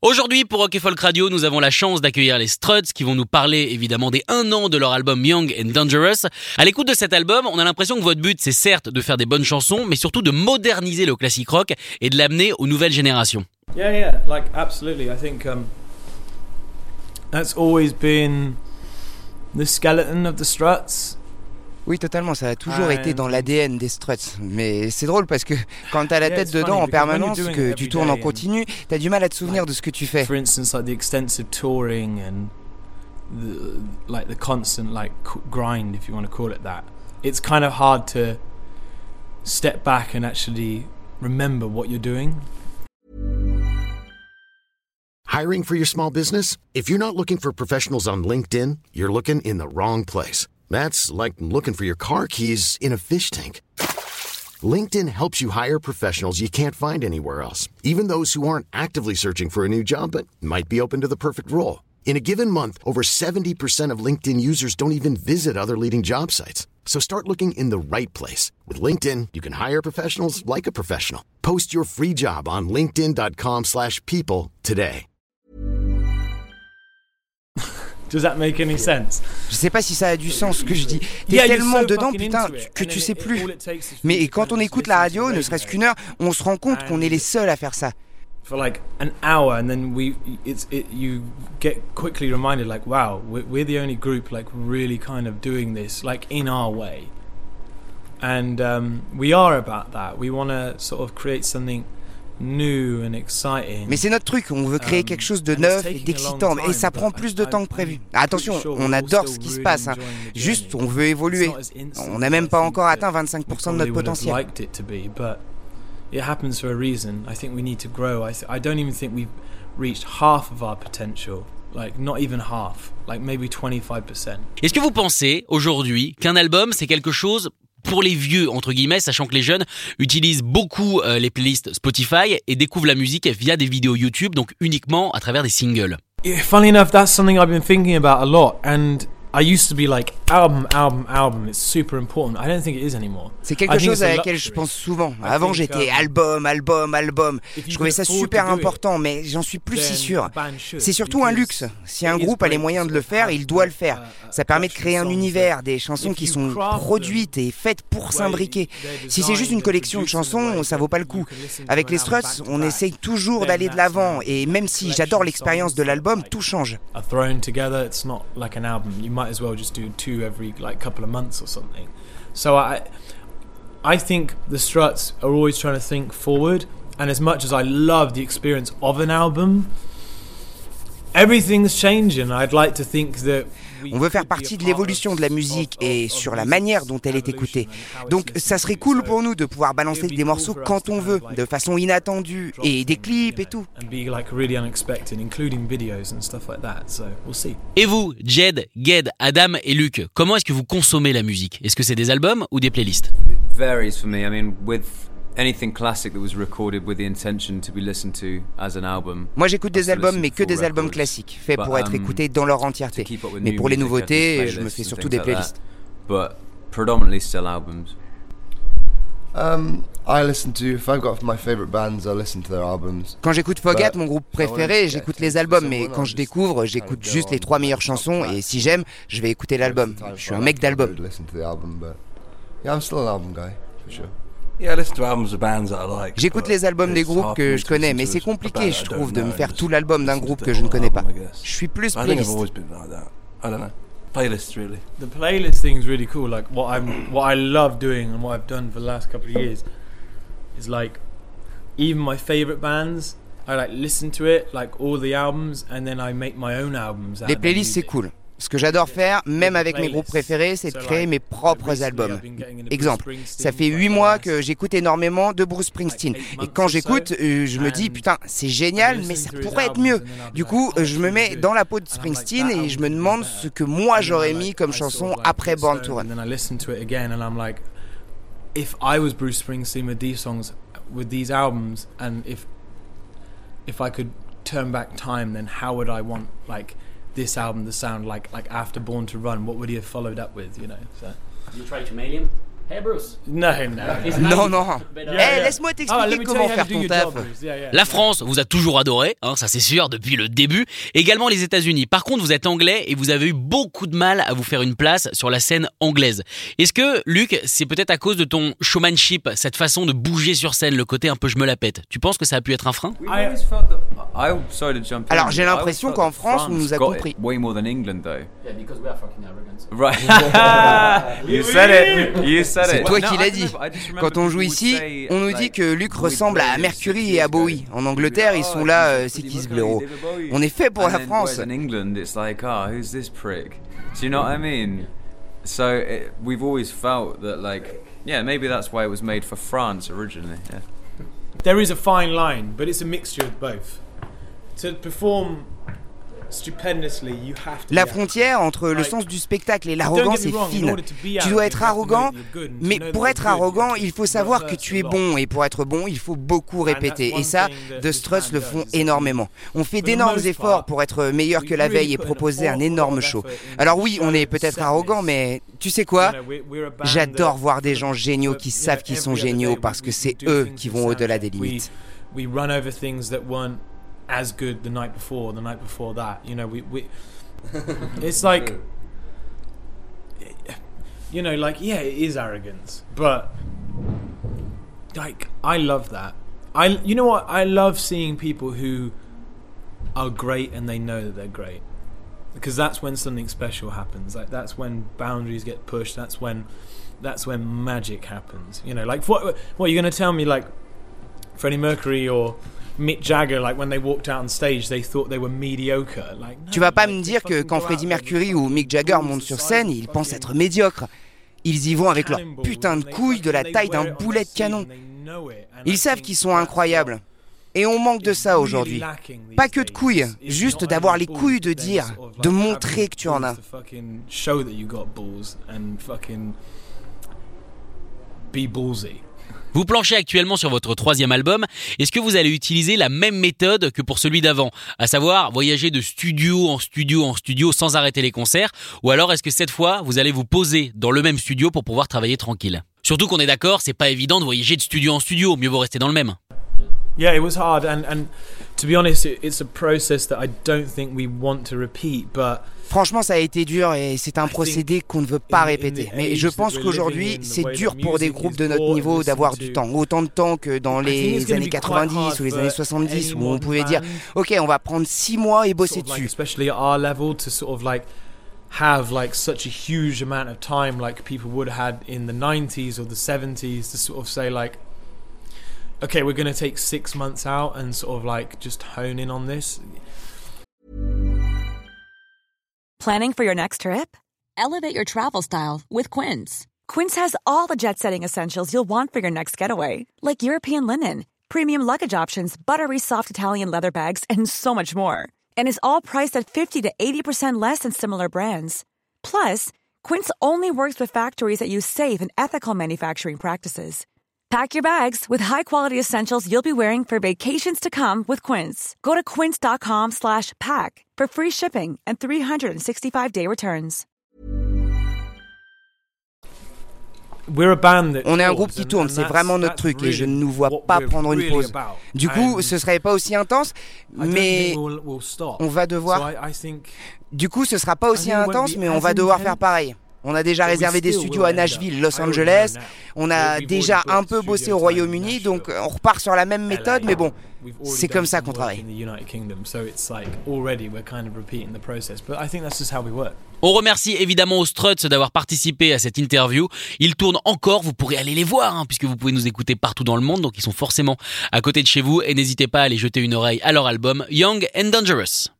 Aujourd'hui, pour Rock & Folk Radio, nous avons la chance d'accueillir les Struts qui vont nous parler évidemment des 1 an de leur album Young and Dangerous. À l'écoute de cet album, on a l'impression que votre but, c'est certes de faire des bonnes chansons, mais surtout de moderniser le classique rock et de l'amener aux nouvelles générations. Yeah, like absolutely. I think that's always been the skeleton of the Struts. Oui, totalement, ça a toujours été dans l'ADN des Struts. Mais c'est drôle parce que quand t'as la tête dedans en permanence, que tu tournes en continu, t'as du mal à te souvenir de ce que tu fais. For instance, like the extensive touring and the constant grind, if you want to call it that. It's kind of hard to step back and actually remember what you're doing. Hiring for your small business? If you're not looking for professionals on LinkedIn, you're looking in the wrong place. That's like looking for your car keys in a fish tank. LinkedIn helps you hire professionals you can't find anywhere else, even those who aren't actively searching for a new job but might be open to the perfect role. In a given month, over 70% of LinkedIn users don't even visit other leading job sites. So start looking in the right place. With LinkedIn, you can hire professionals like a professional. Post your free job on linkedin.com/people today. Does that make any sense? Je sais pas si ça a du sens ce que je dis. T'es tellement dedans, putain, que tu sais plus. Mais quand on écoute la radio, ne serait-ce qu'une heure, on se rend compte qu'on est les seuls à faire ça. For like an hour, and then you get quickly reminded, like, wow, we're the only group like really kind of doing this like in our way, and we are about that. We want to sort of create something new and exciting. Mais c'est notre truc, on veut créer quelque chose de neuf et d'excitant, et ça prend plus de temps que prévu. Attention, on adore ce qui se passe, hein. Juste on veut évoluer. On n'a même pas encore atteint 25% de notre potentiel. It happens for a reason. I think we need to grow. I don't even think we've reached half of our potential. Like, not even half. Like, maybe 25%. Est-ce que vous pensez, aujourd'hui, qu'un album, c'est quelque chose pour les vieux, entre guillemets, sachant que les jeunes utilisent beaucoup les playlists Spotify et découvrent la musique via des vidéos YouTube, donc uniquement à travers des singles? Yeah, funny enough, that's something I've been thinking about a lot. And I used to be like, album, it's super important. I don't think it is anymore. C'est quelque chose à laquelle je pense souvent. Avant, j'étais album. Je trouvais ça super important, mais j'en suis plus si sûr. C'est surtout un luxe. Si un groupe a les moyens de le faire, il doit le faire. Ça permet de créer un univers, des chansons qui sont produites et faites pour s'imbriquer. Si c'est juste une collection de chansons, ça vaut pas le coup. Avec les Struts, on essaye toujours d'aller de l'avant, et même si j'adore l'expérience de l'album, tout change. Might as well just do 2 every couple of months or something. So I think the Struts are always trying to think forward, and as much as I love the experience of an album, everything's changing. I'd like to think that on veut faire partie de l'évolution de la musique et sur la manière dont elle est écoutée. Donc ça serait cool pour nous de pouvoir balancer des morceaux quand on veut, de façon inattendue, et des clips et tout. Et vous, Jed, Ged, Adam et Luc, comment est-ce que vous consommez la musique? Est-ce que c'est des albums ou des playlists? It varies for me. I mean, with anything classic that was recorded with the intention to be listened to as an album. Moi j'écoute des albums, mais que des albums classiques, faits pour être écoutés dans leur entièreté. Mais pour les nouveautés, je me fais surtout des playlists. But predominantly still albums. I listen to, if I've got my favorite bands, I listen to their albums. Quand j'écoute Fogat, mon groupe préféré, j'écoute les albums, mais quand je découvre, j'écoute juste les 3 meilleures chansons, et si j'aime, je vais écouter l'album. Je suis un mec d'album. Yeah, I'm still an album guy, for sure. J'écoute les albums des groupes que je connais, mais c'est compliqué, je trouve, de me faire tout l'album d'un groupe que je ne connais pas. Je suis plus playlist. Playlists, really. The playlist thing is really cool. Like what I love doing and what I've done for the last couple of years is like even my favorite bands, I like listen to it, like all the albums, and then I make my own albums. Les playlists, c'est cool. Ce que j'adore faire, même avec mes groupes préférés, c'est de créer mes propres albums. Exemple, ça fait 8 mois que j'écoute énormément de Bruce Springsteen. Et quand j'écoute, je me dis, putain, c'est génial, mais ça pourrait être mieux. Du coup, je me mets dans la peau de Springsteen et je me demande ce que moi j'aurais mis comme chanson après Born to Run. If I was Bruce Springsteen with these songs, with these albums, and if I could turn back time, then how would I want, like, this album to sound like after Born to Run? What would he have followed up with, you know? So you try to mail him? Hey Bruce. No. Non. Laisse-moi t'expliquer comment faire ton taf. La France vous a toujours adoré, ça c'est sûr, depuis le début. Également les États-Unis. Par contre, vous êtes anglais et vous avez eu beaucoup de mal à vous faire une place sur la scène anglaise. Est-ce que, Luc, c'est peut-être à cause de ton showmanship, cette façon de bouger sur scène, le côté un peu je me la pète? Tu penses que ça a pu être un frein? Alors j'ai l'impression qu'en France, on nous a compris. Way more than England, though. Yeah, because we are fucking arrogant. Right. You said it. C'est toi qui l'as dit. Quand on joue ici, on nous dit que Luc ressemble à Mercury et à Bowie. En Angleterre, ils sont là, c'est qui ce blaireau? On est fait pour la France. In England, it's like, who's this prick? Do you know what I mean? So we've always felt that, like, yeah, maybe that's why it was made for France originally. Yeah. There is a fine line, but it's a mixture of both. To perform stupendously, you have to. La frontière entre le sens du spectacle et l'arrogance est fine. Tu dois être arrogant, mais pour être arrogant, il faut savoir que tu es bon, et pour être bon, il faut beaucoup répéter. Et ça, The Struts le font énormément. On fait d'énormes efforts pour être meilleur que la veille et proposer un énorme show. Alors oui, on est peut-être arrogant, mais tu sais quoi? J'adore voir des gens géniaux qui savent qu'ils sont géniaux parce que c'est eux qui vont au-delà des limites. We run over things that weren't as good the night before that. You know, we it's like, you know, like, yeah, it is arrogance, but like, I love that. You know what? I love seeing people who are great and they know that they're great, because that's when something special happens. Like, that's when boundaries get pushed. That's when magic happens. You know, like, what you're going to tell me, like, Freddie Mercury or Mick Jagger, like when they walked out on stage, they thought they were mediocre. Like, no, tu vas pas me dire que quand Freddie Mercury ou Mick Jagger montent sur scène, ils pensent être médiocres. Ils y vont avec leur putain de couilles de la taille d'un boulet de canon. Ils savent qu'ils sont incroyables. Et on manque de ça aujourd'hui. Pas que de couilles, juste d'avoir les couilles de dire, de montrer que tu en as. Be ballsy. Vous planchez actuellement sur votre 3e album. Est-ce que vous allez utiliser la même méthode que pour celui d'avant, à savoir voyager de studio en studio sans arrêter les concerts, ou alors est-ce que cette fois vous allez vous poser dans le même studio pour pouvoir travailler tranquille? Surtout qu'on est d'accord, c'est pas évident de voyager de studio en studio, mieux vaut rester dans le même. Yeah, it was hard, and to be honest, it's a process that I don't think we want to repeat, but franchement, ça a été dur et c'est un procédé qu'on ne veut pas répéter. Mais je pense qu'aujourd'hui, c'est dur pour des groupes de notre niveau d'avoir du temps. Autant de temps que dans les années 90 ou les années 70 où on pouvait dire « Ok, on va prendre 6 mois et bosser dessus ». Especially at our level, to sort of like have like such a huge amount of time like people would have had in the 90s or the 70s to sort of say like, okay, we're going to take 6 months out and sort of like just hone in on this. Planning for your next trip? Elevate your travel style with Quince. Quince has all the jet-setting essentials you'll want for your next getaway, like European linen, premium luggage options, buttery soft Italian leather bags, and so much more. And is all priced at 50 to 80% less than similar brands. Plus, Quince only works with factories that use safe and ethical manufacturing practices. Pack your bags with high-quality essentials you'll be wearing for vacations to come with Quince. Go to quince.com/pack for free shipping and 365-day returns. On est un groupe qui tourne, c'est vraiment notre truc et je ne nous vois pas prendre une pause. Du coup, ce serait pas aussi intense, mais on va devoir... Du coup, ce sera pas aussi intense, mais on va devoir faire pareil. On a déjà réservé des studios à Nashville, Los Angeles. On a déjà un peu bossé au Royaume-Uni, donc on repart sur la même méthode, mais bon, c'est comme ça qu'on travaille. On remercie évidemment aux Struts d'avoir participé à cette interview. Ils tournent encore, vous pourrez aller les voir, puisque vous pouvez nous écouter partout dans le monde, donc ils sont forcément à côté de chez vous. Et n'hésitez pas à aller jeter une oreille à leur album Young and Dangerous.